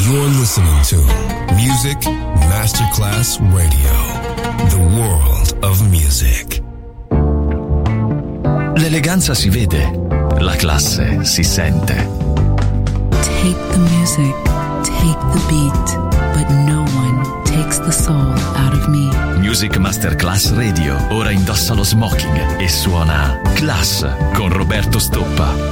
You're listening to Music Masterclass Radio, the world of music. L'eleganza si vede, la classe si sente. Take the music, take the beat, but no one takes the soul out of me. Music Masterclass Radio, ora indossa lo smoking e suona Class con Roberto Stoppa.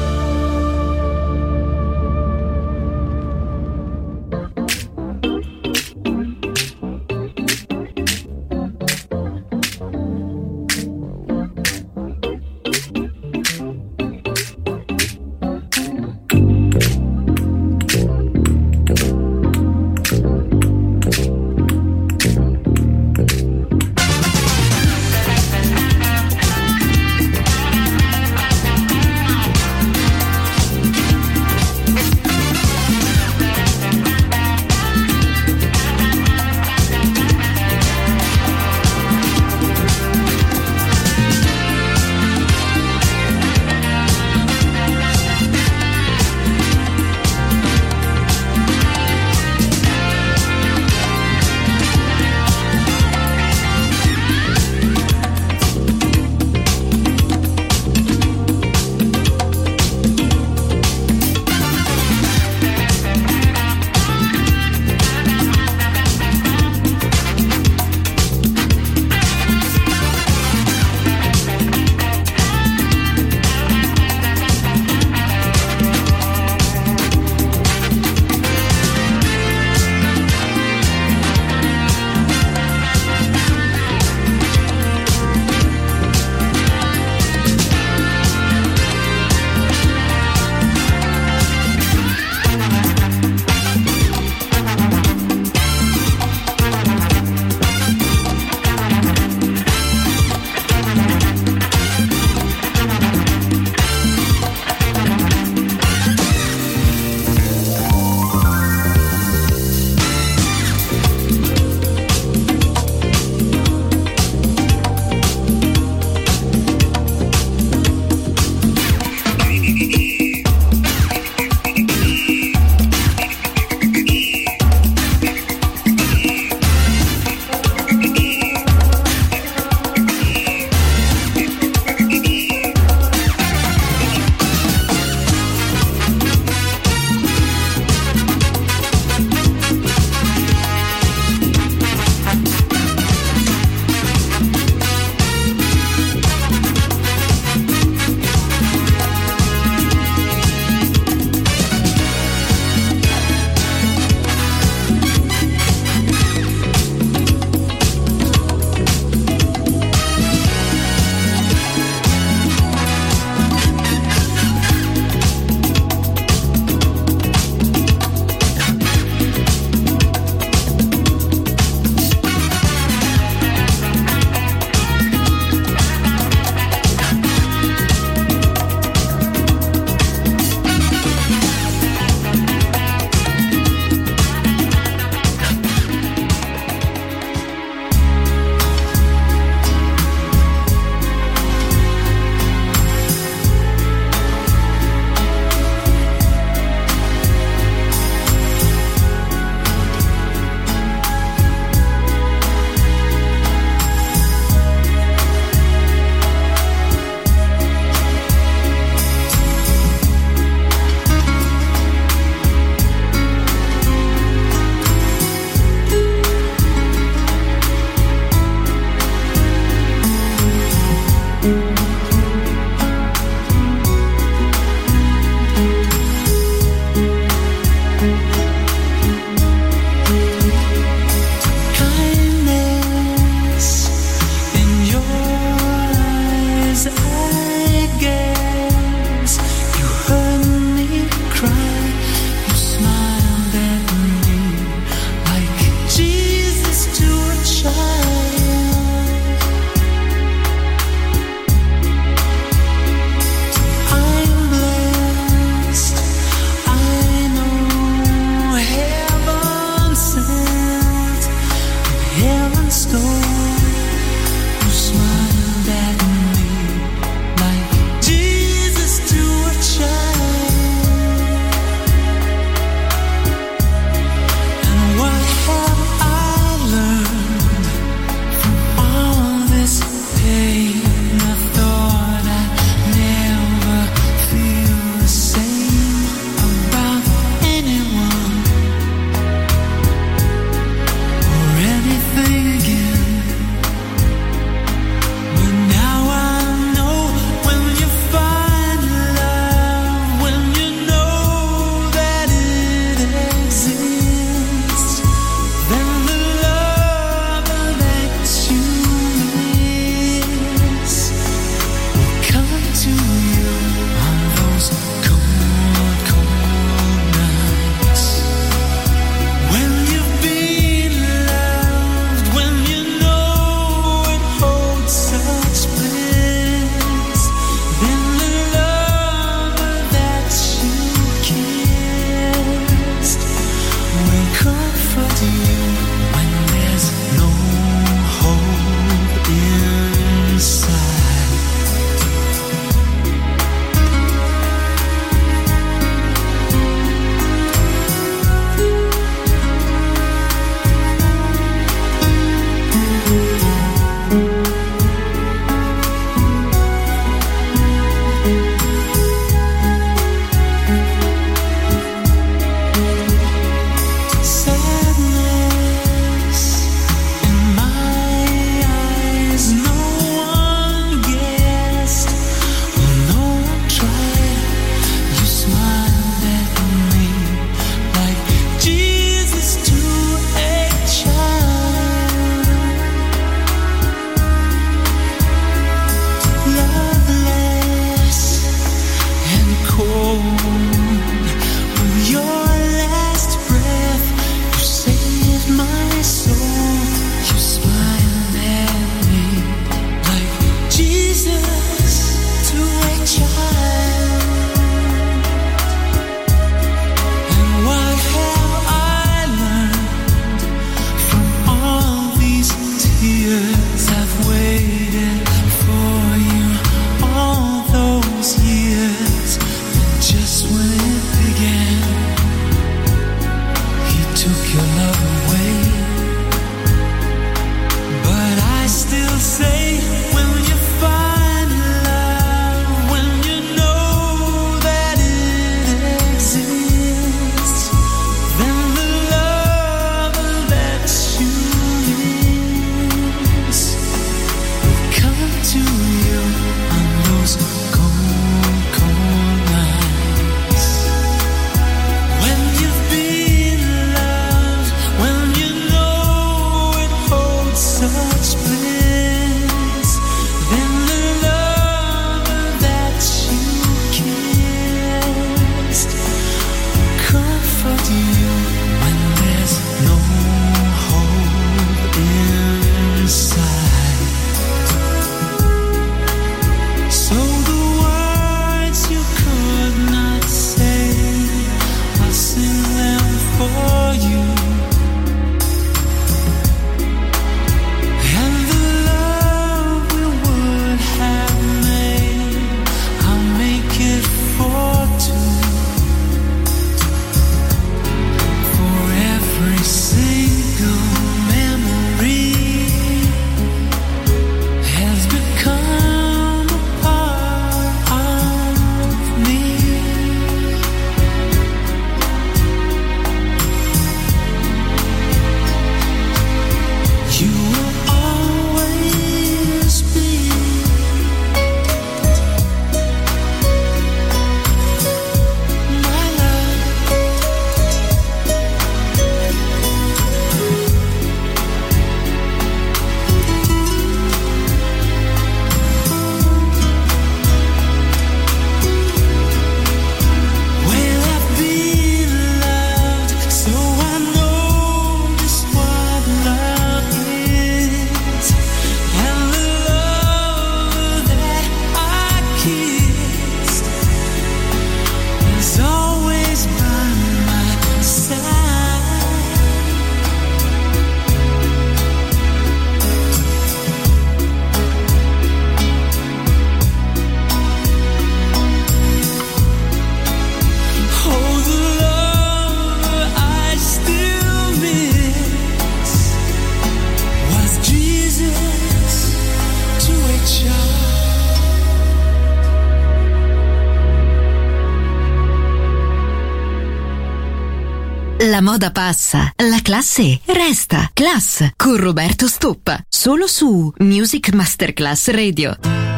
La moda passa, la classe resta. Class con Roberto Stoppa, solo su Music Masterclass Radio.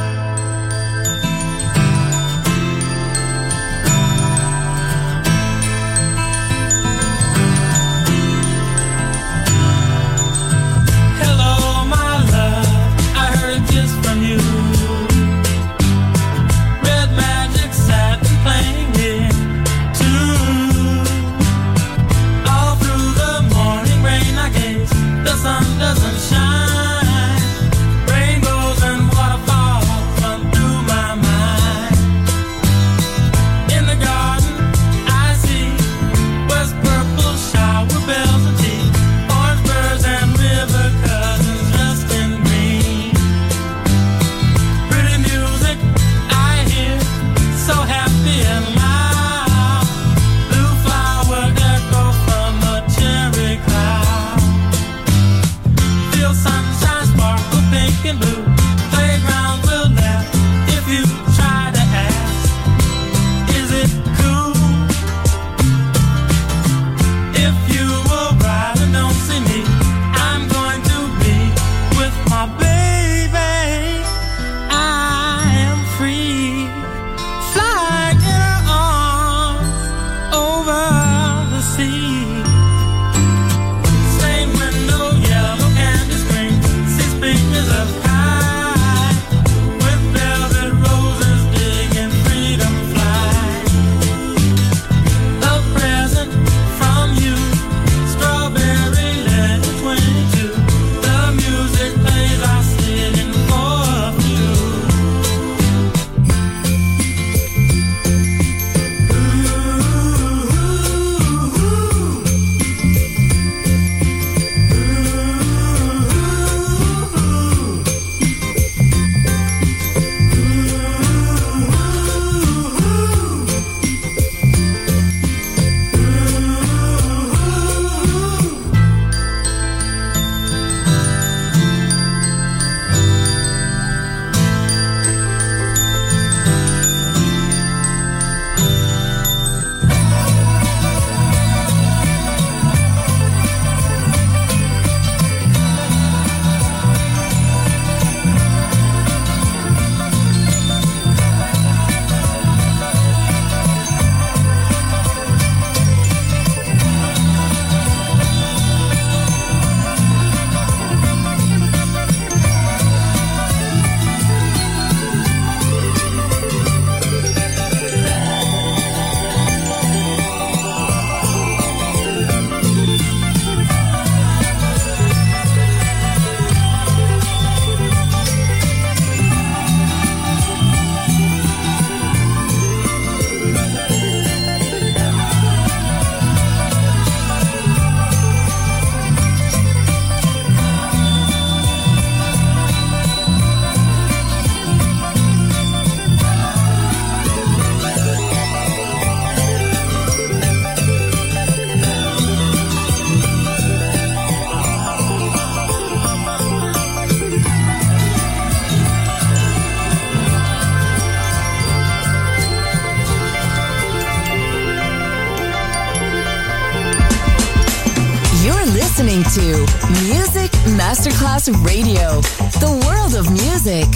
listening to Music Masterclass Radio, the world of music.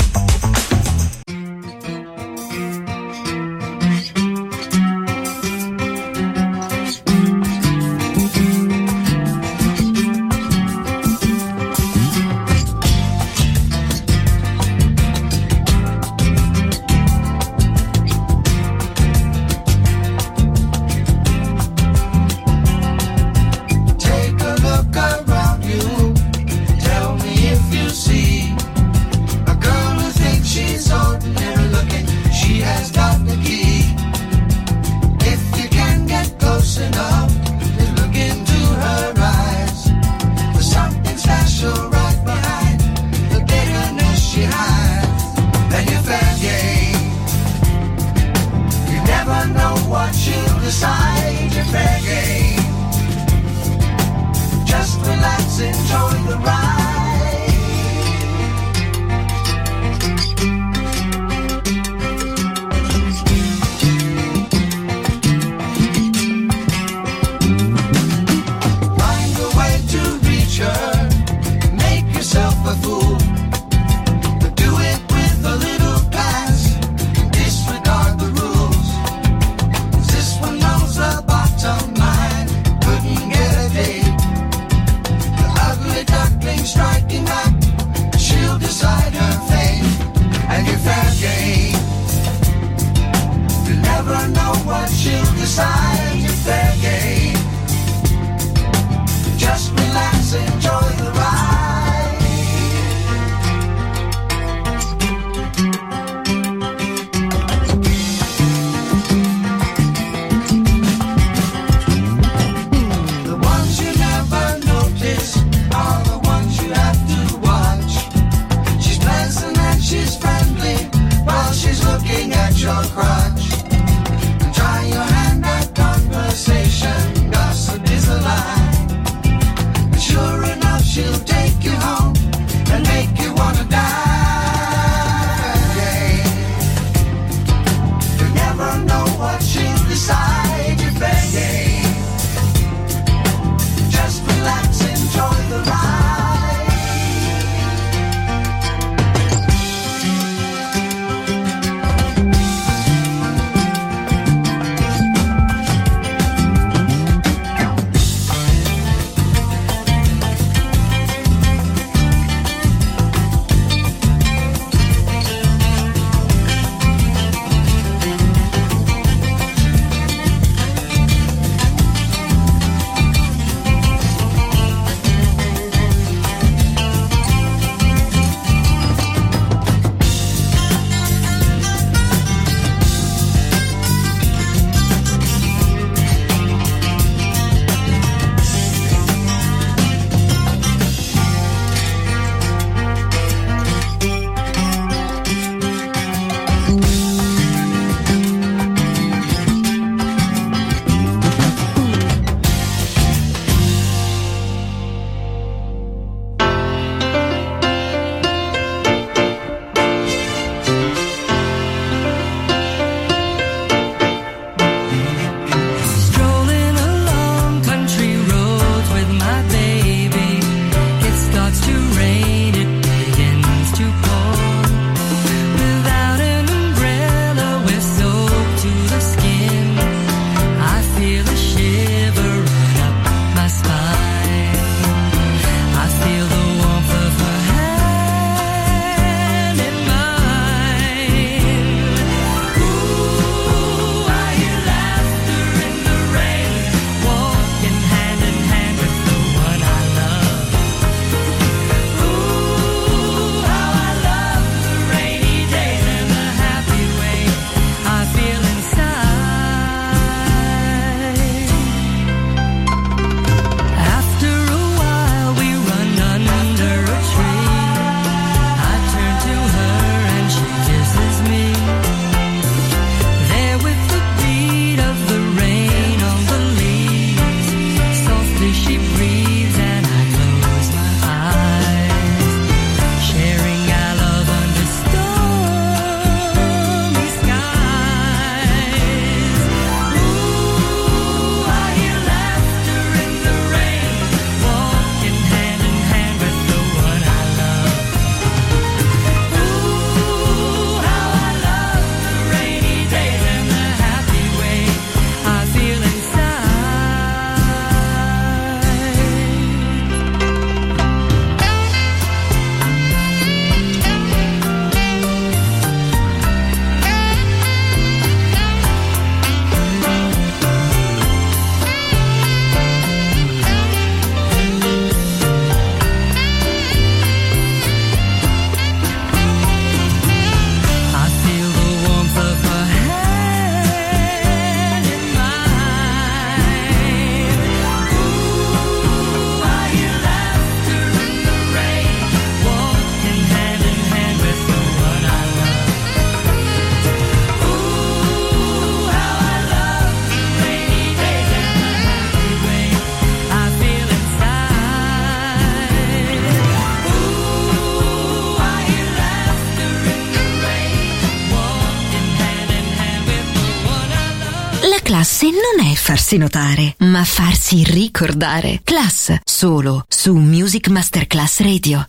Classe non è farsi notare, ma farsi ricordare. Class, solo su Music Masterclass Radio.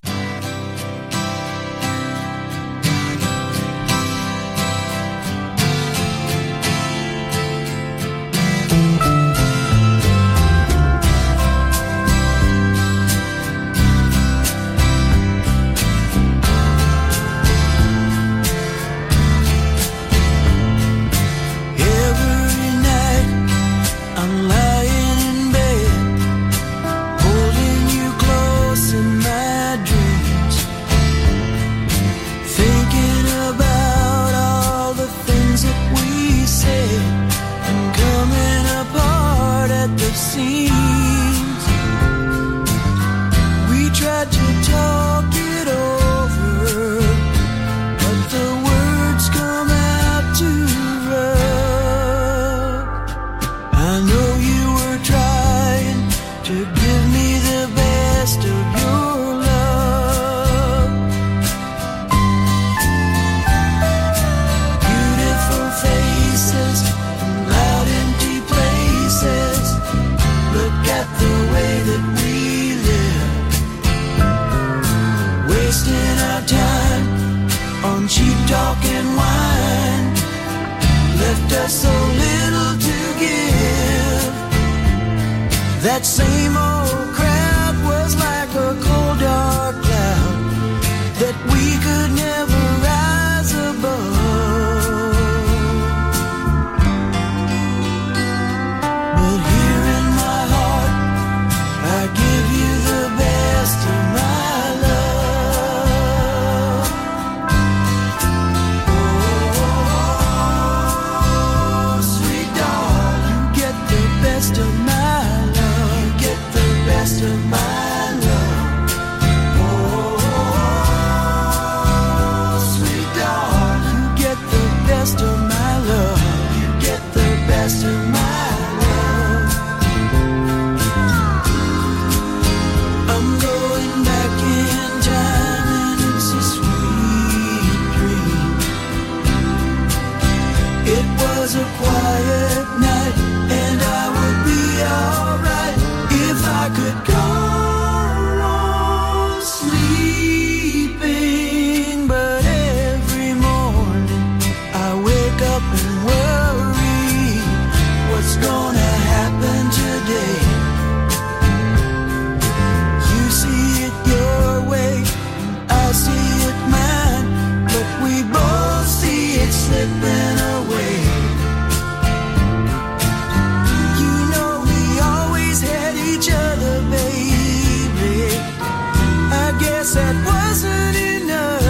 That same old crowd was like a cold dark cloud that we could never rise above. But here in my heart I give you the best of my love. Oh, sweet darling, get the best of my best of my love. Oh, sweet darling, get the best of my love. You get the best of my love. I'm going back in time and it's a sweet dream. It was a quiet night and I would be alright if I could go on sleeping. But every morning I wake up and worry what's gonna happen today. You see it your way, I see it mine, but we both see it slipping away. That wasn't enough,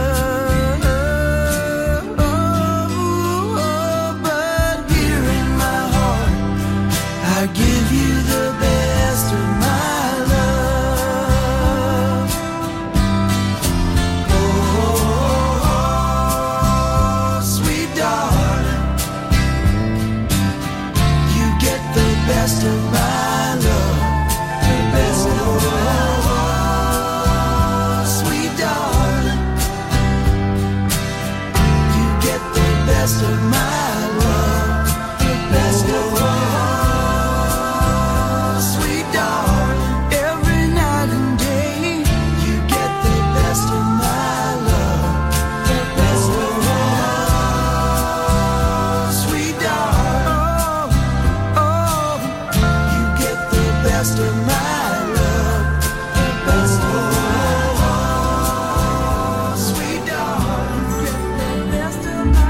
but here in my heart I give you the best of my love. Oh, sweet darling, you get the best of my love, the best of my love. Best of my love, the best of all, sweet darling. Every night and day, you get the best of my love, the best of all, sweet darling. Oh, you get the best of my love, the best of all, sweet darling. You get the best of my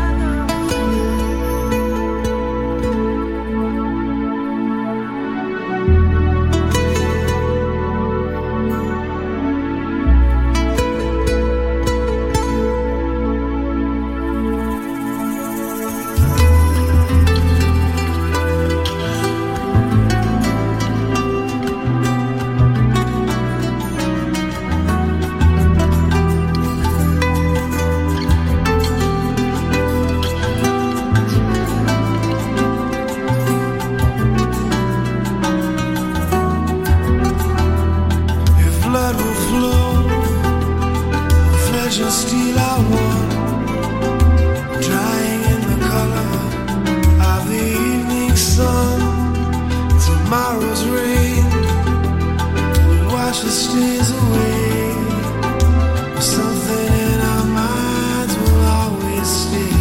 tomorrow's rain wash the stains away. Something in our minds will always stay.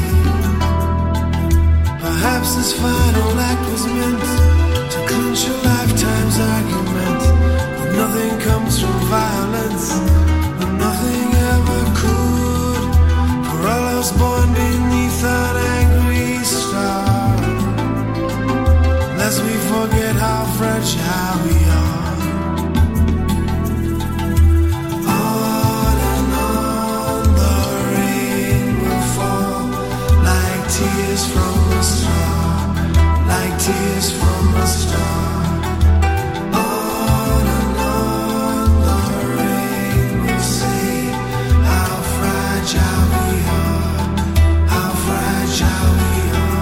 Perhaps this final act was meant to clinch a lifetime's argument. But nothing comes from violence, and nothing ever could. For all us born beneath an angry star, lest we forget how fragile we are. Tears from a star, like tears from a star. On and on the rain will say how fragile we are, how fragile we are.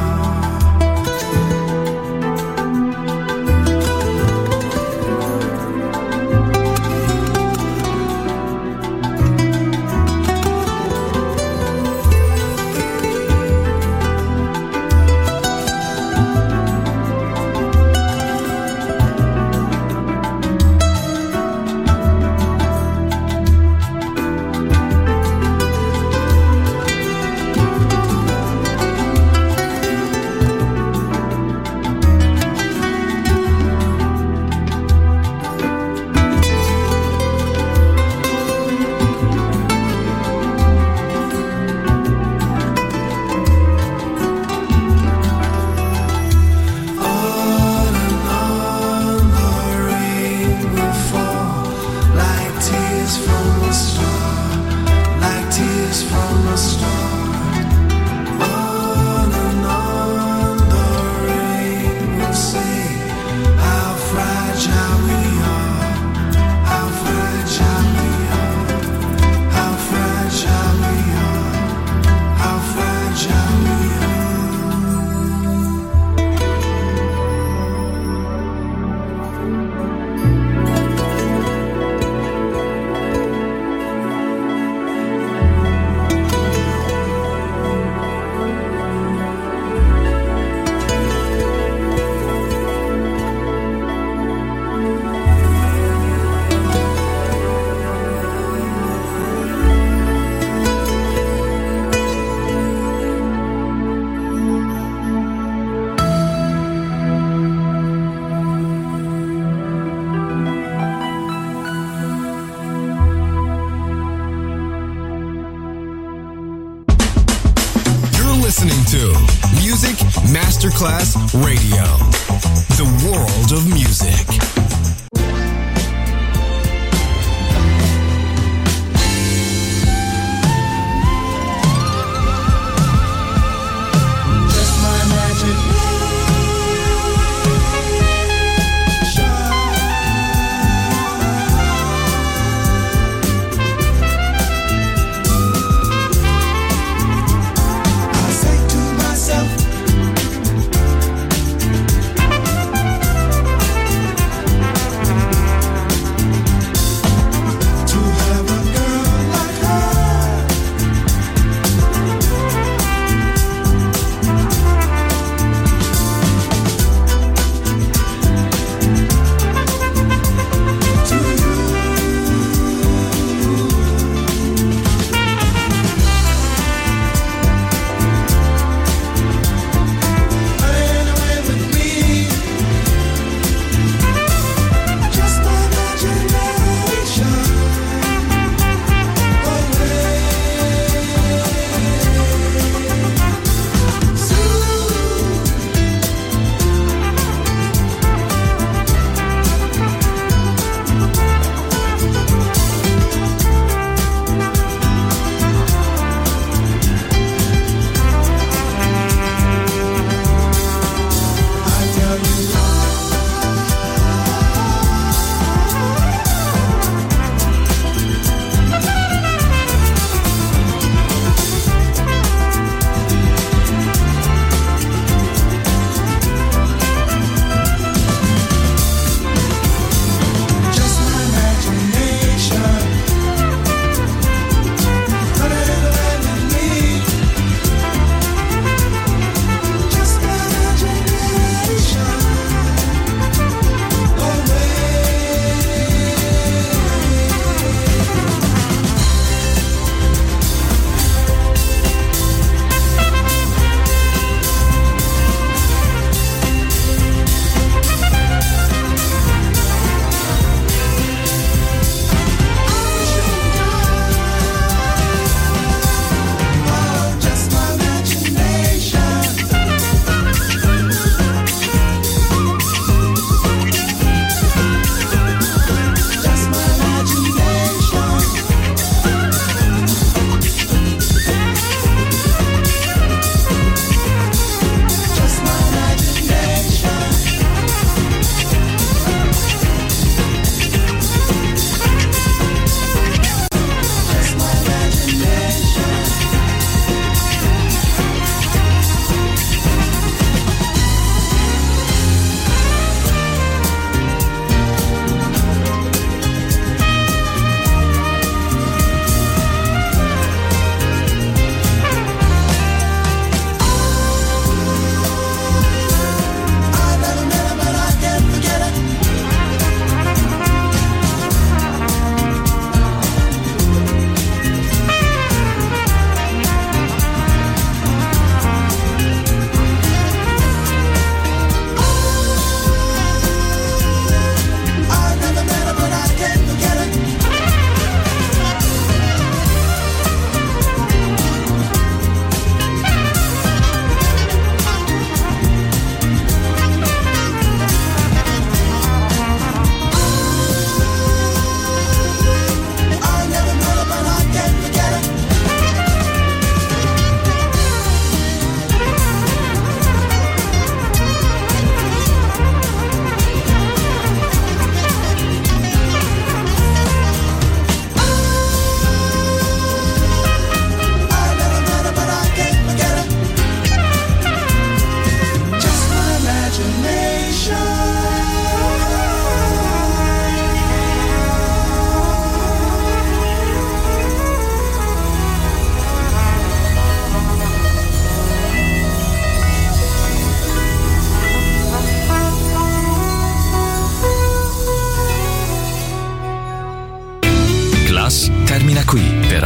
Listening to Music Masterclass Radio, the world of music.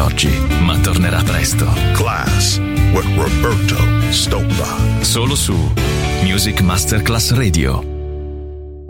oggi, ma tornerà presto. Class with Roberto Stoppa. Solo su Music Masterclass Radio.